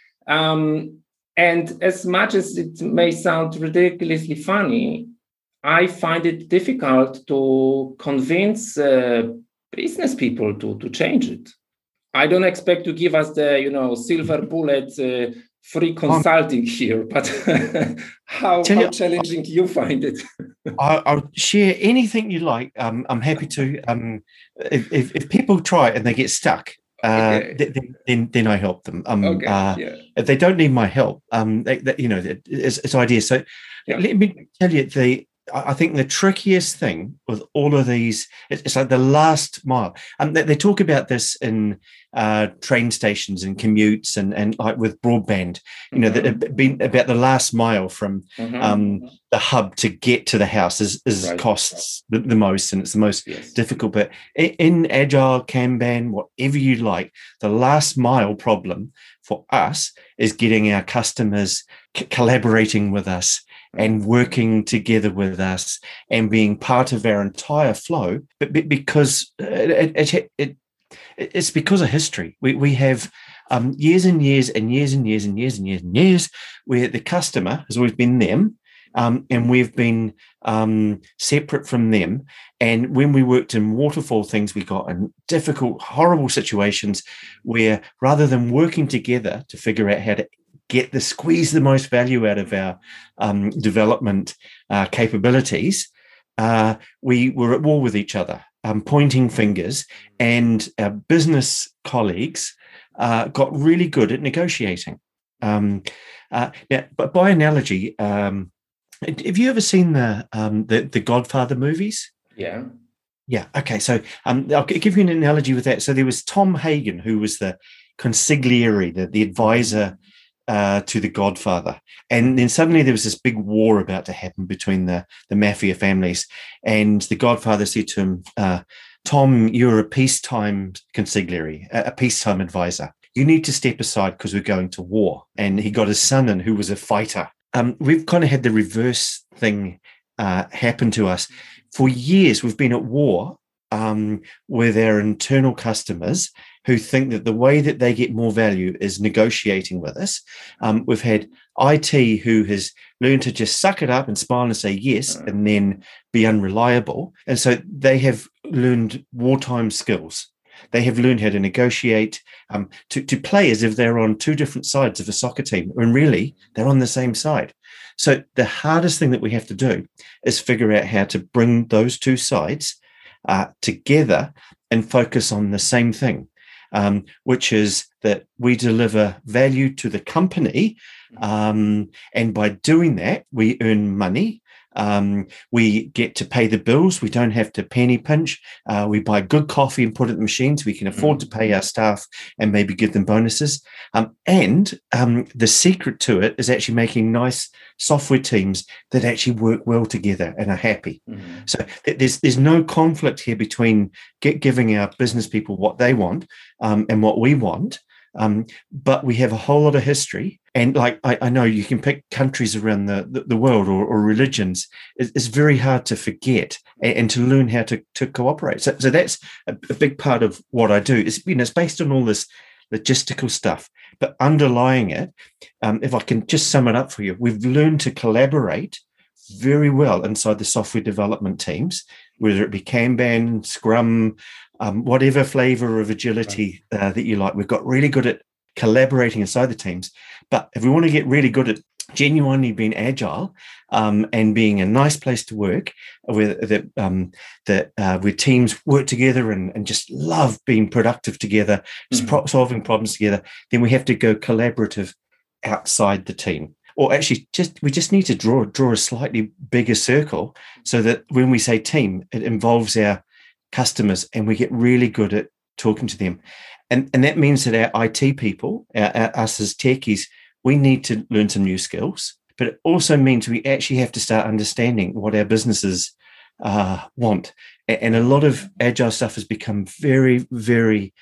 Um, and as much as it may sound ridiculously funny, I find it difficult to convince uh, business people to, to change it. I don't expect to give us the, you know, silver bullet uh, free consulting here, but how, how you, challenging you find it? I, I'll share anything you like. Um, I'm happy to. Um, if, if, if people try it and they get stuck, uh, okay. then, then then I help them. Um, okay. uh, yeah. If they don't need my help, um, they, they, you know, it's, it's ideas. So yeah. Let me tell you the. I think the trickiest thing with all of these, it's like the last mile. Um, they, they talk about this in uh, train stations and commutes and, and like with broadband, you know, mm-hmm. that been about the last mile from mm-hmm. um, the hub to get to the house is, is right. costs the, the most, and it's the most yes. difficult. But in, in Agile, Kanban, whatever you like, the last mile problem for us is getting our customers c- collaborating with us and working together with us and being part of our entire flow, but because it, it, it, it, it's because of history. We we have um, years and years and years and years and years and years and years where the customer has always been them, um, and we've been um, separate from them. And when we worked in waterfall things, we got in difficult, horrible situations where rather than working together to figure out how to get the squeeze the most value out of our um, development uh, capabilities, uh, we were at war with each other, um, pointing fingers, and our business colleagues uh, got really good at negotiating. Um, uh, now, but by analogy, um, have you ever seen the, um, the the Godfather movies? Yeah. Yeah. Okay. So um, I'll give you an analogy with that. So there was Tom Hagen, who was the consigliere, the, the advisor Uh, to the Godfather, and then suddenly there was this big war about to happen between the the mafia families, and the Godfather said to him, uh, "Tom, you're a peacetime consigliere, a, a peacetime advisor. You need to step aside because we're going to war." And he got his son in, who was a fighter. Um, we've kind of had the reverse thing uh, happen to us for years. We've been at war um, with our internal customers, who think that the way that they get more value is negotiating with us. Um, we've had I T who has learned to just suck it up and smile and say yes, and then be unreliable. And so they have learned wartime skills. They have learned how to negotiate, um, to, to play as if they're on two different sides of a soccer team, when really they're on the same side. So the hardest thing that we have to do is figure out how to bring those two sides uh, together and focus on the same thing. Um, which is that we deliver value to the company. Um, and by doing that, we earn money. Um, we get to pay the bills. We don't have to penny pinch. Uh, we buy good coffee and put it in machines. We can afford to pay our staff and maybe give them bonuses. Um, and um, the secret to it is actually making nice software teams that actually work well together and are happy. Mm-hmm. So th- there's there's no conflict here between get, giving our business people what they want um, and what we want. Um, but we have a whole lot of history. And like I, I know you can pick countries around the, the, the world or, or religions. It's, it's very hard to forget and, and to learn how to, to cooperate. So, so that's a, a big part of what I do. It's, you know, it's based on all this logistical stuff, but underlying it, um, if I can just sum it up for you, we've learned to collaborate very well inside the software development teams, whether it be Kanban, Scrum, um, whatever flavor of agility uh, that you like. We've got really good at collaborating inside the teams. But if we want to get really good at genuinely being agile um, and being a nice place to work, where that um, that uh, where teams work together and, and just love being productive together, mm-hmm. solving problems together, then we have to go collaborative outside the team. Or actually, just we just need to draw draw a slightly bigger circle so that when we say team, it involves our customers, and we get really good at talking to them. And, and that means that our I T people, our, our, us as techies, we need to learn some new skills. But it also means we actually have to start understanding what our businesses uh, want. And a lot of agile stuff has become very, very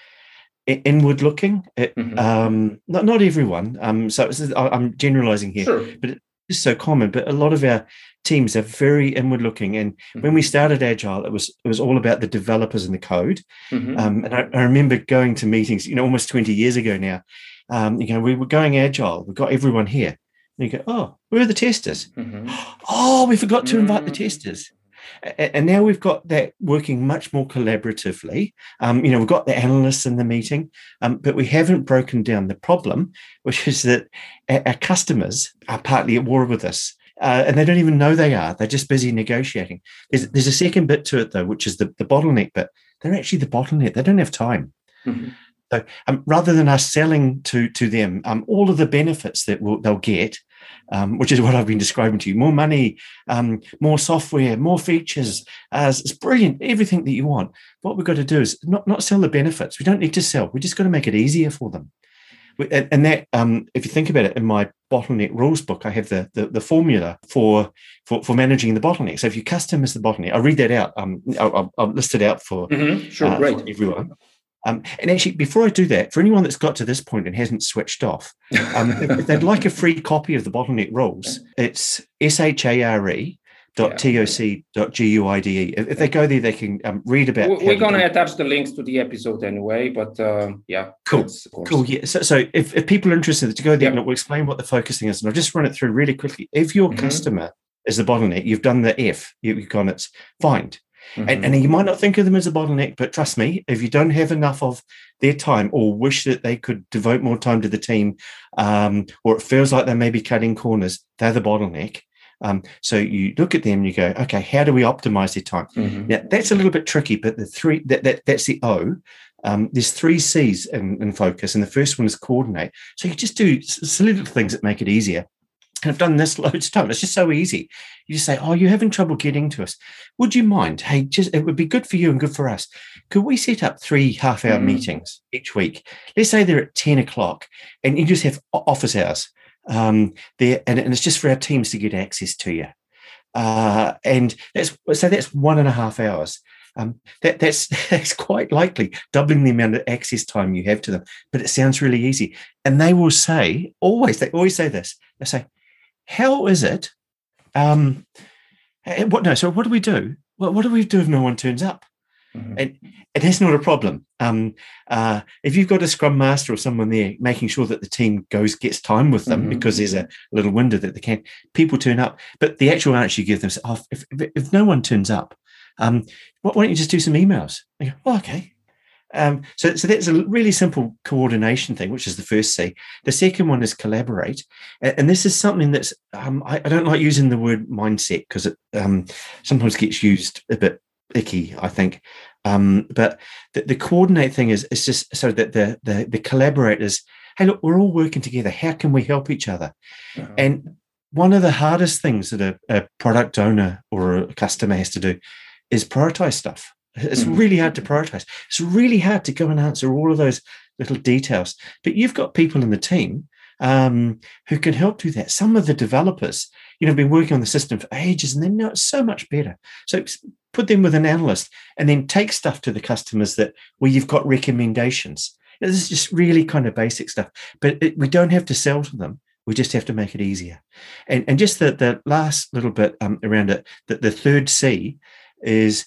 inward looking. It, mm-hmm. um, not not everyone. Um, so it's, I'm generalizing here, sure. but it's so common. But a lot of our teams are very inward looking. And mm-hmm. when we started Agile, it was it was all about the developers and the code. Mm-hmm. Um, and I, I remember going to meetings, you know, almost twenty years ago now. Um, you know, we were going Agile. We've got everyone here. And you go, oh, where are the testers? Mm-hmm. Oh, we forgot to invite the testers. And now we've got that working much more collaboratively. Um, you know, we've got the analysts in the meeting, um, but we haven't broken down the problem, which is that our customers are partly at war with us, uh, and they don't even know they are. They're just busy negotiating. There's, there's a second bit to it, though, which is the, the bottleneck bit. They're actually the bottleneck. They don't have time. Mm-hmm. So um, rather than us selling to, to them um, all of the benefits that we'll, they'll get, Um, which is what I've been describing to you, more money, um, more software, more features. Uh, it's brilliant, everything that you want. What we've got to do is not, not sell the benefits. We don't need to sell. We just got to make it easier for them. We, and, and that, um, if you think about it, in my bottleneck rules book, I have the the, the formula for, for for managing the bottleneck. So if you customize the bottleneck, I'll read that out. Um, I'll, I'll list it out for, mm-hmm. sure, uh, great. for everyone. Um, and actually, before I do that, for anyone that's got to this point and hasn't switched off, um, if they'd like a free copy of the bottleneck rules, it's S-H-A-R-E dot T-O-C dot G-U-I-D-E. If, if they go there, they can um, read about. We're going to attach the links to the episode anyway, but uh, yeah. Cool, cool, yeah. So, so if, if people are interested to go there, yep. We'll explain what the focusing is, and I'll just run it through really quickly. If your mm-hmm. customer is the bottleneck, you've done the F, you've gone, it's find. Mm-hmm. And, and you might not think of them as a bottleneck, but trust me, if you don't have enough of their time or wish that they could devote more time to the team, um, or it feels like they may be cutting corners, they're the bottleneck. Um, so you look at them and you go, okay, how do we optimize their time? Mm-hmm. Now, that's a little bit tricky, but the three that, that that's the O. Um, there's three C's in, in focus, and the first one is coordinate. So you just do silly little things that make it easier. And I've done this loads of times. It's just so easy. You just say, oh, you're having trouble getting to us. Would you mind? Hey, just it would be good for you and good for us. Could we set up three half-hour mm-hmm. meetings each week? Let's say they're at ten o'clock, and you just have office hours um, there, and, and it's just for our teams to get access to you. Uh, and that's so that's one and a half hours. Um, that, that's that's quite likely doubling the amount of access time you have to them. But it sounds really easy. And they will say, always, they always say this. They say, how is it? Um, what no? So what do we do? Well, what do we do if no one turns up? Mm-hmm. And, and that's not a problem. Um, uh, if you've got a scrum master or someone there making sure that the team goes gets time with them mm-hmm. because there's a little window that they can, people turn up. But the actual answer you give them is, oh, if, if, if no one turns up, um, why don't you just do some emails? They go, oh, okay. Um, so, so that's a really simple coordination thing, which is the first C. The second one is collaborate. And, and this is something that's, um, I, I don't like using the word mindset because it um, sometimes gets used a bit icky, I think. Um, but the, the coordinate thing is, is just so that the, the, the collaborators, hey, look, we're all working together. How can we help each other? Uh-huh. And one of the hardest things that a, a product owner or a customer has to do is prioritize stuff. It's really hard to prioritize. It's really hard to go and answer all of those little details. But you've got people in the team um, who can help do that. Some of the developers, you know, have been working on the system for ages and they know it so much better. So put them with an analyst and then take stuff to the customers that where you've got recommendations. You know, this is just really kind of basic stuff. But it, we don't have to sell to them. We just have to make it easier. And, and just the, the last little bit um, around it, the, the third C is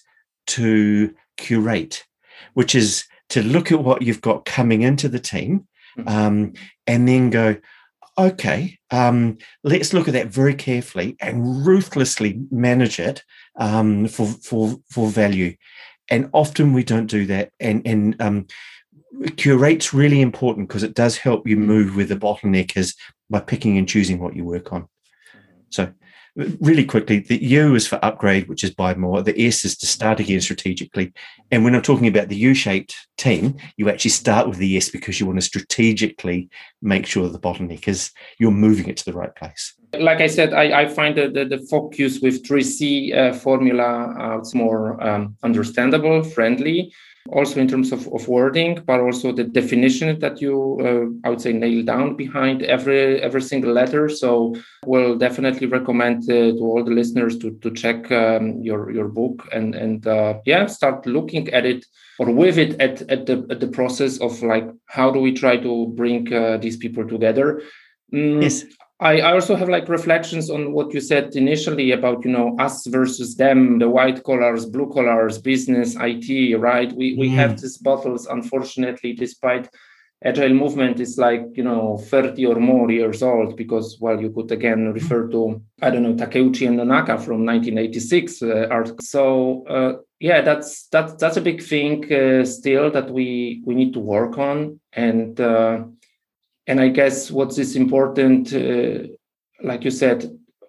to curate, which is to look at what you've got coming into the team um, and then go, okay, um, let's look at that very carefully and ruthlessly manage it um, for, for, for value. And often we don't do that. And, and um, curate's really important because it does help you move where the bottleneck is by picking and choosing what you work on. So really quickly, the U is for upgrade, which is buy more. The S is to start again strategically. And when I'm talking about the U-shaped team, you actually start with the S because you want to strategically make sure the bottleneck is you're moving it to the right place. Like I said, I, I find that the, the focus with three C uh, formula, uh, it's more um, understandable, friendly, also in terms of, of wording, but also the definition that you, uh, I would say, nail down behind every every single letter. So we'll definitely recommend uh, to all the listeners to to check um, your your book and and uh, yeah, start looking at it or with it at at the at the process of like how do we try to bring uh, these people together. Mm, yes. I also have like reflections on what you said initially about, you know, us versus them, the white collars, blue collars, business, I T, right? We we mm. have these battles, unfortunately, despite Agile movement is like, you know, thirty or more years old because, well, you could again refer to, I don't know, Takeuchi and Nonaka from nineteen eighty-six uh, art. So, uh, yeah, that's, that's, that's a big thing uh, still that we, we need to work on. And, uh, And I guess what is important, uh, like you said,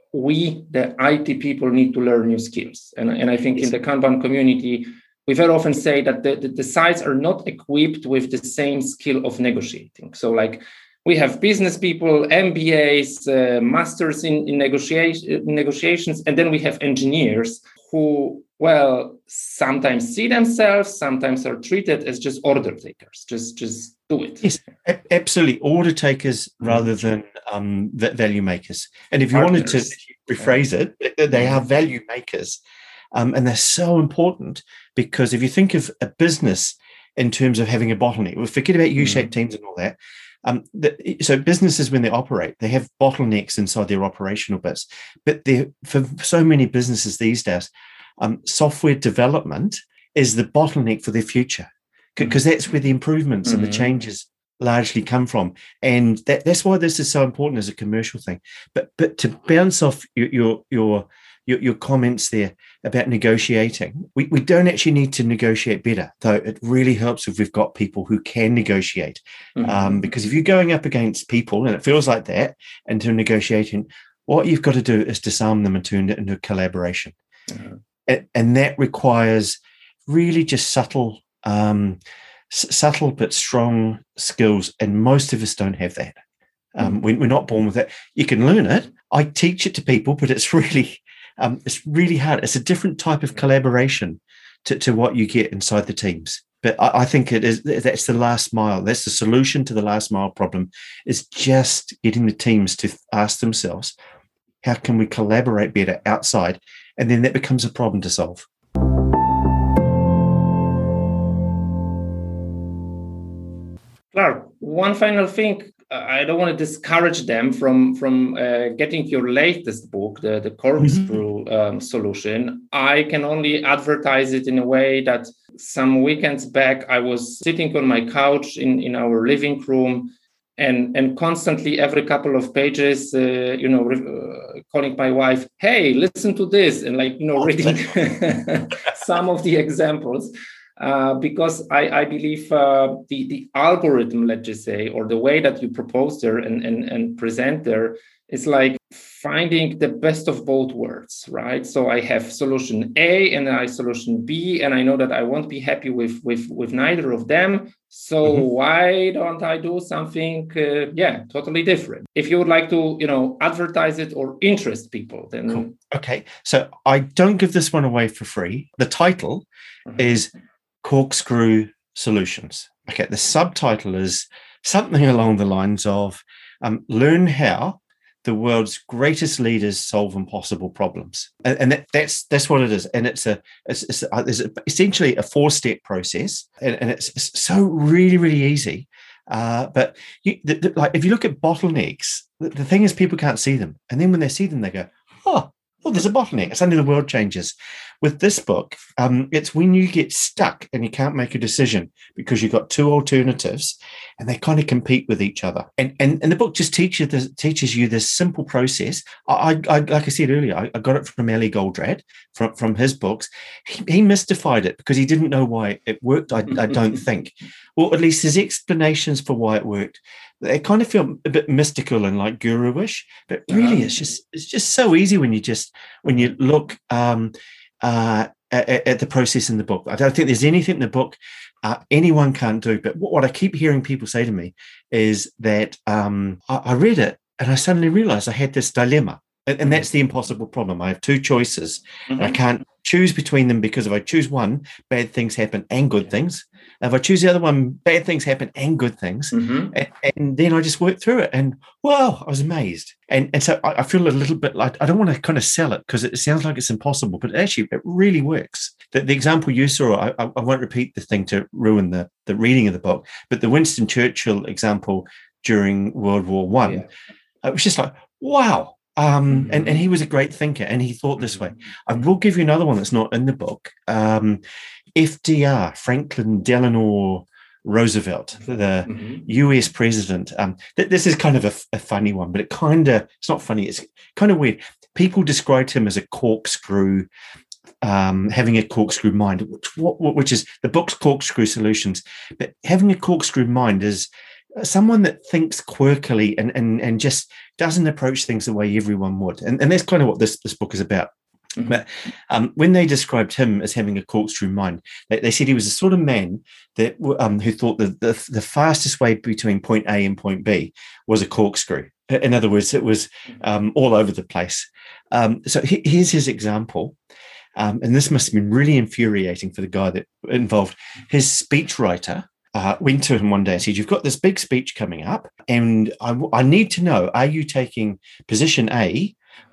we, the I T people, need to learn new skills. And, and I think in the Kanban community, we very often say that the, the, the sides are not equipped with the same skill of negotiating. So like we have business people, M B As, uh, masters in, in negotiation, negotiations, and then we have engineers who, well, sometimes see themselves, sometimes are treated as just order takers, just, just do it. Yes, a- absolutely. Order takers rather than um, value makers. And if you Partners. wanted to rephrase it, they are value makers. Um, and they're so important because if you think of a business in terms of having a bottleneck, we'll forget about U-shaped mm. teams and all that. Um, the, so businesses, when they operate, they have bottlenecks inside their operational bits. But for so many businesses these days, um, software development is the bottleneck for their future because that's where the improvements mm-hmm. and the changes largely come from. And that, that's why this is so important as a commercial thing. But but to bounce off your your your, your, your comments there about negotiating, we, we don't actually need to negotiate better, though it really helps if we've got people who can negotiate. Mm-hmm. Um, because if you're going up against people, and it feels like that, into negotiating, what you've got to do is disarm them and turn it into a collaboration. Mm-hmm. And, and that requires really just subtle, um, s- subtle but strong skills, and most of us don't have that. Um, mm-hmm. we, we're not born with it. You can learn it. I teach it to people, but it's really... Um, it's really hard. It's a different type of collaboration to, to what you get inside the teams. But I, I think it is that's the last mile. That's the solution to the last mile problem, is just getting the teams to ask themselves, how can we collaborate better outside? And then that becomes a problem to solve. Clark, one final thing. I don't want to discourage them from from uh, getting your latest book, the, the Corkscrew mm-hmm. um, solution. I can only advertise it in a way that some weekends back, I was sitting on my couch in, in our living room and, and constantly every couple of pages, uh, you know, uh, calling my wife, hey, listen to this, and like, you know, reading some of the examples. Uh, because I, I believe uh, the, the algorithm, let's just say, or the way that you propose there and, and, and present there is like finding the best of both worlds, right? So I have solution A and I have solution B, and I know that I won't be happy with, with, with neither of them. So mm-hmm. why don't I do something, uh, yeah, totally different? If you would like to, you know, advertise it or interest people, then... Cool. Okay, so I don't give this one away for free. The title mm-hmm. is... Corkscrew Solutions. Okay, the subtitle is something along the lines of um, learn how the world's greatest leaders solve impossible problems, and, and that, that's that's what it is. And it's a it's, it's, a, it's essentially a four-step process, and, and it's, it's so really really easy. Uh, but you, the, the, like if you look at bottlenecks, the, the thing is people can't see them, and then when they see them, they go, oh. Oh, there's a bottleneck. Suddenly the world changes. With this book, um, it's when you get stuck and you can't make a decision because you've got two alternatives and they kind of compete with each other. And and, and the book just teaches this, teaches you this simple process. I, I like I said earlier, I, I got it from Eli Goldratt, from, from his books. He, he mystified it because he didn't know why it worked, I, I don't think. Well, at least his explanations for why it worked, they kind of feel a bit mystical and like guru-ish, but really it's just it's just so easy when you just when you look um, uh, at, at the process in the book. I don't think there's anything in the book uh, anyone can't do. But what, what I keep hearing people say to me is that um, I, I read it and I suddenly realized I had this dilemma. And, and that's the impossible problem. I have two choices. Mm-hmm. And I can't choose between them because if I choose one, bad things happen and good things. If I choose the other one, bad things happen and good things. Mm-hmm. And, and then I just worked through it. And, wow, I was amazed. And, and so I, I feel a little bit like, I don't want to kind of sell it because it sounds like it's impossible, but actually it really works. The, the example you saw, I, I won't repeat the thing to ruin the, the reading of the book, but the Winston Churchill example during World War One, yeah. It was just like, wow. Um, and, and he was a great thinker and he thought this way. I will give you another one that's not in the book. Um, F D R, Franklin Delano Roosevelt, the mm-hmm. U S president. Um, th- this is kind of a, a funny one, but it kind of, it's not funny, it's kind of weird. People described him as a corkscrew, um, having a corkscrew mind, which, which is the book's Corkscrew Solutions. But having a corkscrew mind is someone that thinks quirkily and, and, and just doesn't approach things the way everyone would. And, and that's kind of what this, this book is about. Mm-hmm. But um, when they described him as having a corkscrew mind, they, they said he was the sort of man that um, who thought that the, the fastest way between point A and point B was a corkscrew. In other words, it was um, all over the place. Um, so he, here's his example. Um, and this must have been really infuriating for the guy that involved. His speechwriter Uh, went to him one day and said, you've got this big speech coming up and I, I need to know, are you taking position A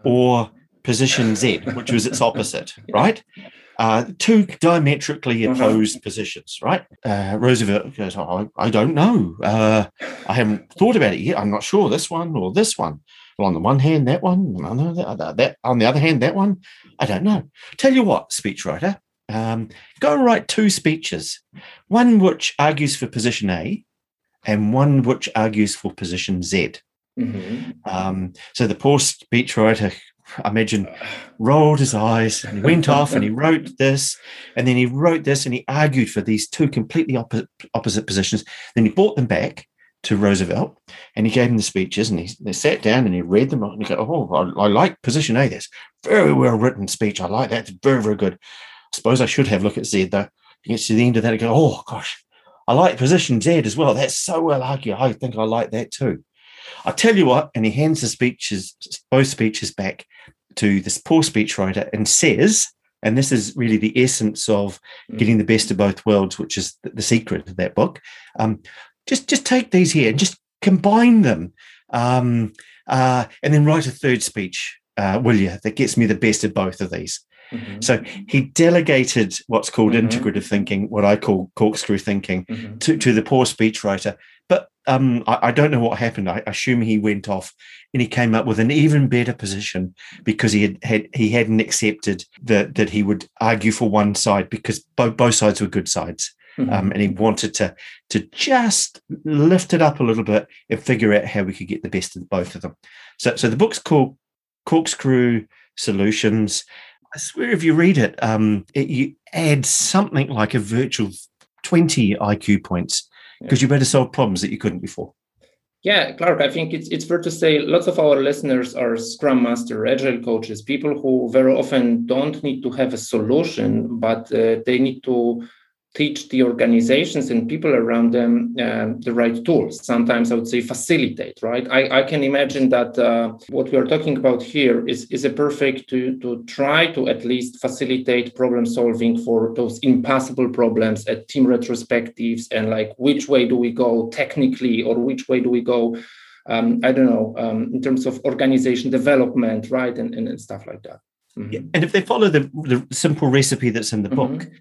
or position Z, which was its opposite, right? Uh, two diametrically opposed uh-huh. positions, right? Uh, Roosevelt goes, oh, I, I don't know. Uh, I haven't thought about it yet. I'm not sure this one or this one. Well, on the one hand, that one. On the, that, on the other hand, that one. I don't know. Tell you what, speechwriter. Um, go and write two speeches, one which argues for position A and one which argues for position Z. Mm-hmm. Um, so the poor speechwriter, I imagine, rolled his eyes and he went off and he wrote this and then he wrote this and he argued for these two completely opposite, opposite positions. Then he brought them back to Roosevelt and he gave him the speeches and he they sat down and he read them and he go, oh, I, I like position A. That's very well written speech. I like that. It's very, very good. I suppose I should have a look at Z though. You get to the end of that and go, oh gosh, I like position Z as well. That's so well argued. I think I like that too. I tell you what, and he hands the speeches, both speeches back to this poor speechwriter and says, and this is really the essence of getting the best of both worlds, which is the, the secret of that book. Um, just, just take these here and just combine them um, uh, and then write a third speech, uh, will you, that gets me the best of both of these. Mm-hmm. So he delegated what's called mm-hmm. integrative thinking, what I call corkscrew thinking, mm-hmm. to, to the poor speechwriter. But um, I, I don't know what happened. I assume he went off and he came up with an even better position because he had, had he hadn't accepted that that he would argue for one side because both both sides were good sides. Mm-hmm. Um, and he wanted to to just lift it up a little bit and figure out how we could get the best of both of them. So, so the book's called Corkscrew Solutions. I swear if you read it, um, it, you add something like a virtual twenty I Q points because yeah. you better solve problems that you couldn't before. Yeah, Clark, I think it's it's fair to say lots of our listeners are Scrum Master, Agile coaches, people who very often don't need to have a solution, but uh, they need to teach the organizations and people around them uh, the right tools. Sometimes I would say facilitate, right? I, I can imagine that uh, what we are talking about here is, is a perfect to, to try to at least facilitate problem solving for those impossible problems at team retrospectives and like which way do we go technically or which way do we go, um, I don't know, um, in terms of organization development, right? And, and, and stuff like that. Mm-hmm. Yeah. And if they follow the, the simple recipe that's in the book, mm-hmm.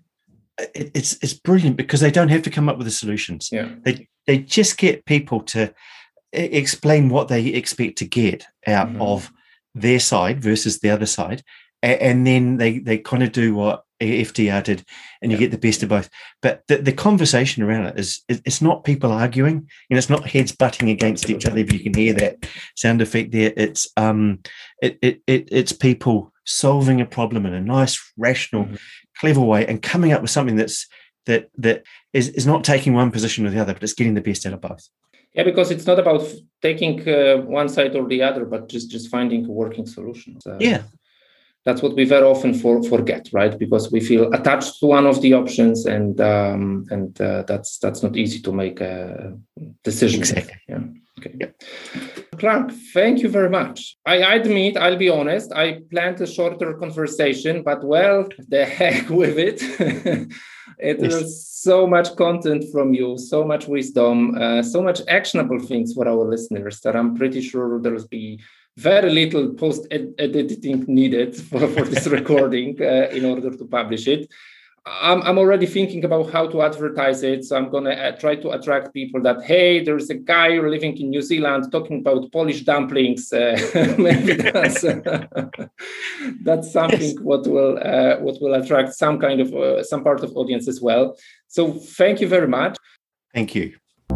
It's it's brilliant because they don't have to come up with the solutions. Yeah. They they just get people to explain what they expect to get out mm-hmm. of their side versus the other side, and, and then they they kind of do what F D R did, and you yeah. get the best of both. But the, the conversation around it is it's not people arguing, and it's not heads butting against each other. If you can hear that sound effect there, it's um it it, it it's people solving a problem in a nice, rational. Mm-hmm. clever way and coming up with something that's that that is, is not taking one position or the other, but it's getting the best out of both. Yeah, because it's not about taking uh, one side or the other, but just, just finding a working solution. So yeah. That's what we very often for, forget, right? Because we feel attached to one of the options and um, and uh, that's that's not easy to make a decision. Exactly. Yeah. Okay. Yeah. Clark, thank you very much. I admit, I'll be honest, I planned a shorter conversation, but well, the heck with it. It yes. was so much content from you, so much wisdom, uh, so much actionable things for our listeners that I'm pretty sure there'll be very little post-editing needed for, for this recording uh, in order to publish it. I'm, I'm already thinking about how to advertise it. So I'm going to uh, try to attract people that, hey, there's a guy living in New Zealand talking about Polish dumplings. Uh, maybe that's, uh, that's something yes. what will uh, what will attract some kind of, uh, some part of audience as well. So thank you very much. Thank you.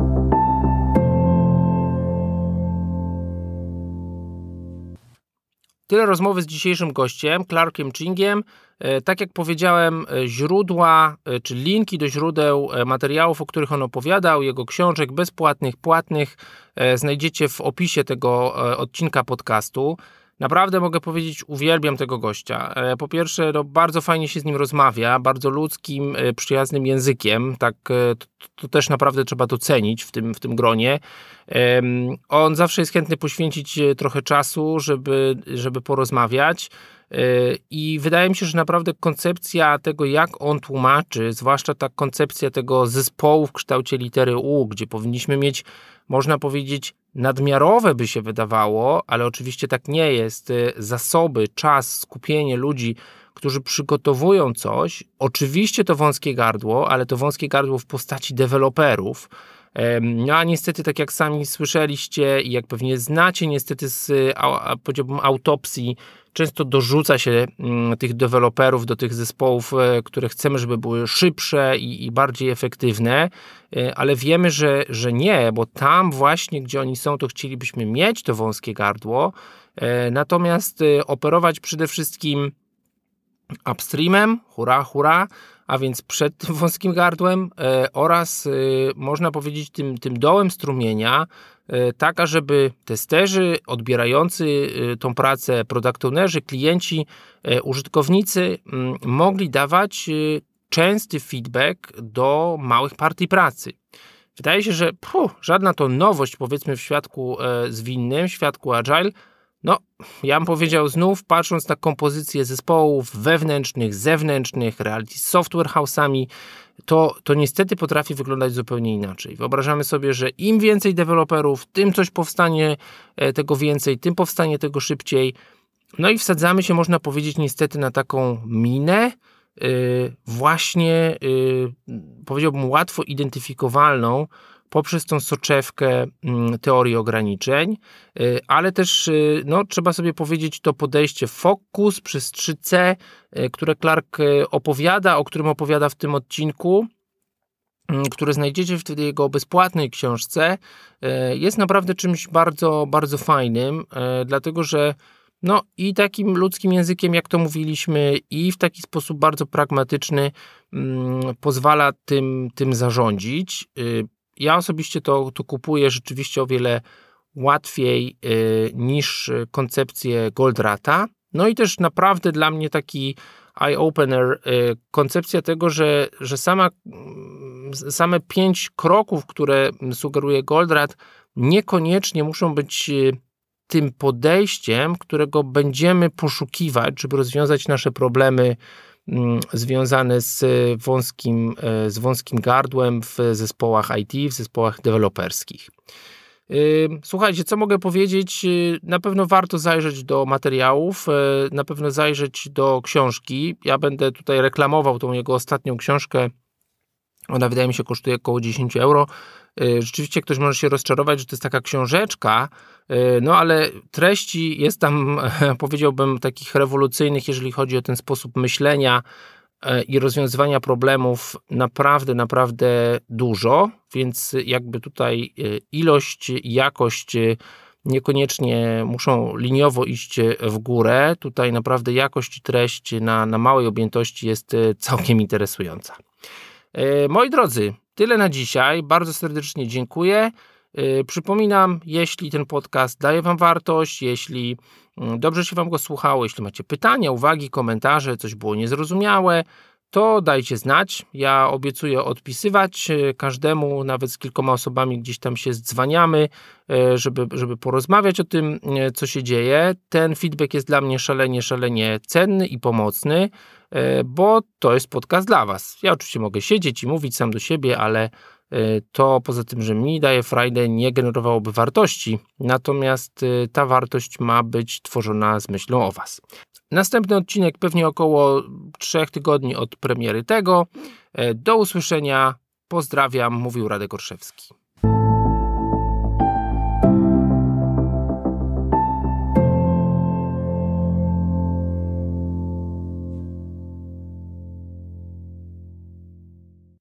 Tyle rozmowy z dzisiejszym gościem, Clarkiem Chingiem. Tak jak powiedziałem, źródła czy linki do źródeł materiałów, o których on opowiadał, jego książek bezpłatnych, płatnych, znajdziecie w opisie tego odcinka podcastu. Naprawdę mogę powiedzieć, uwielbiam tego gościa. Po pierwsze, no, bardzo fajnie się z nim rozmawia, bardzo ludzkim, przyjaznym językiem. Tak, to, to też naprawdę trzeba docenić w tym, w tym gronie. On zawsze jest chętny poświęcić trochę czasu, żeby, żeby porozmawiać. I wydaje mi się, że naprawdę koncepcja tego, jak on tłumaczy, zwłaszcza ta koncepcja tego zespołu w kształcie litery U, gdzie powinniśmy mieć, można powiedzieć, nadmiarowe by się wydawało, ale oczywiście tak nie jest, zasoby, czas, skupienie ludzi, którzy przygotowują coś. Oczywiście to wąskie gardło, ale to wąskie gardło w postaci deweloperów. No a niestety, tak jak sami słyszeliście i jak pewnie znacie, niestety z, powiedziałbym, autopsji często dorzuca się tych deweloperów do tych zespołów, które chcemy, żeby były szybsze i, i bardziej efektywne, ale wiemy, że, że nie, bo tam właśnie, gdzie oni są, to chcielibyśmy mieć to wąskie gardło, natomiast operować przede wszystkim upstreamem, hurra, hurra, a więc przed tym wąskim gardłem e, oraz e, można powiedzieć tym, tym dołem strumienia, e, tak ażeby testerzy, odbierający e, tą pracę, product ownerzy, klienci, e, użytkownicy m, mogli dawać e, częsty feedback do małych partii pracy. Wydaje się, że puh, żadna to nowość, powiedzmy, w świadku e, zwinnym, w świadku agile. No, ja bym powiedział znów, patrząc na kompozycję zespołów wewnętrznych, zewnętrznych, reality software house'ami, to, to niestety potrafi wyglądać zupełnie inaczej. Wyobrażamy sobie, że im więcej deweloperów, tym coś powstanie tego więcej, tym powstanie tego szybciej. No i wsadzamy się, można powiedzieć, niestety na taką minę, yy, właśnie, yy, powiedziałbym, łatwo identyfikowalną poprzez tą soczewkę teorii ograniczeń, ale też no, trzeba sobie powiedzieć to podejście Focus przez trzy C, które Clark opowiada, o którym opowiada w tym odcinku, które znajdziecie w jego bezpłatnej książce, jest naprawdę czymś bardzo, bardzo fajnym, dlatego że no i takim ludzkim językiem, jak to mówiliśmy, i w taki sposób bardzo pragmatyczny mm, pozwala tym, tym zarządzić. Ja osobiście to, to kupuję rzeczywiście o wiele łatwiej y, niż koncepcję Goldrata. No i też naprawdę dla mnie taki eye-opener, y, koncepcja tego, że, że sama, same pięć kroków, które sugeruje Goldratt, niekoniecznie muszą być y, tym podejściem, którego będziemy poszukiwać, żeby rozwiązać nasze problemy związane z wąskim, z wąskim gardłem w zespołach I T, w zespołach deweloperskich. Słuchajcie, co mogę powiedzieć? Na pewno warto zajrzeć do materiałów, na pewno zajrzeć do książki. Ja będę tutaj reklamował tą jego ostatnią książkę. Ona, wydaje mi się, kosztuje około dziesięć euro. Rzeczywiście ktoś może się rozczarować, że to jest taka książeczka, no ale treści jest tam, powiedziałbym, takich rewolucyjnych, jeżeli chodzi o ten sposób myślenia i rozwiązywania problemów, naprawdę, naprawdę dużo, więc jakby tutaj ilość i jakość niekoniecznie muszą liniowo iść w górę. Tutaj naprawdę jakość i treść na, na małej objętości jest całkiem interesująca. Moi drodzy, tyle na dzisiaj. Bardzo serdecznie dziękuję. Przypominam, jeśli ten podcast daje Wam wartość, jeśli dobrze się Wam go słuchało, jeśli macie pytania, uwagi, komentarze, coś było niezrozumiałe, to dajcie znać. Ja obiecuję odpisywać każdemu, nawet z kilkoma osobami gdzieś tam się zdzwaniamy, żeby, żeby porozmawiać o tym, co się dzieje. Ten feedback jest dla mnie szalenie, szalenie cenny i pomocny, bo to jest podcast dla was. Ja oczywiście mogę siedzieć i mówić sam do siebie, ale to poza tym, że mi daje frajdę, nie generowałoby wartości. Natomiast ta wartość ma być tworzona z myślą o was. Następny odcinek pewnie około trzech tygodni od premiery tego. Do usłyszenia. Pozdrawiam, mówił Radek Orszewski.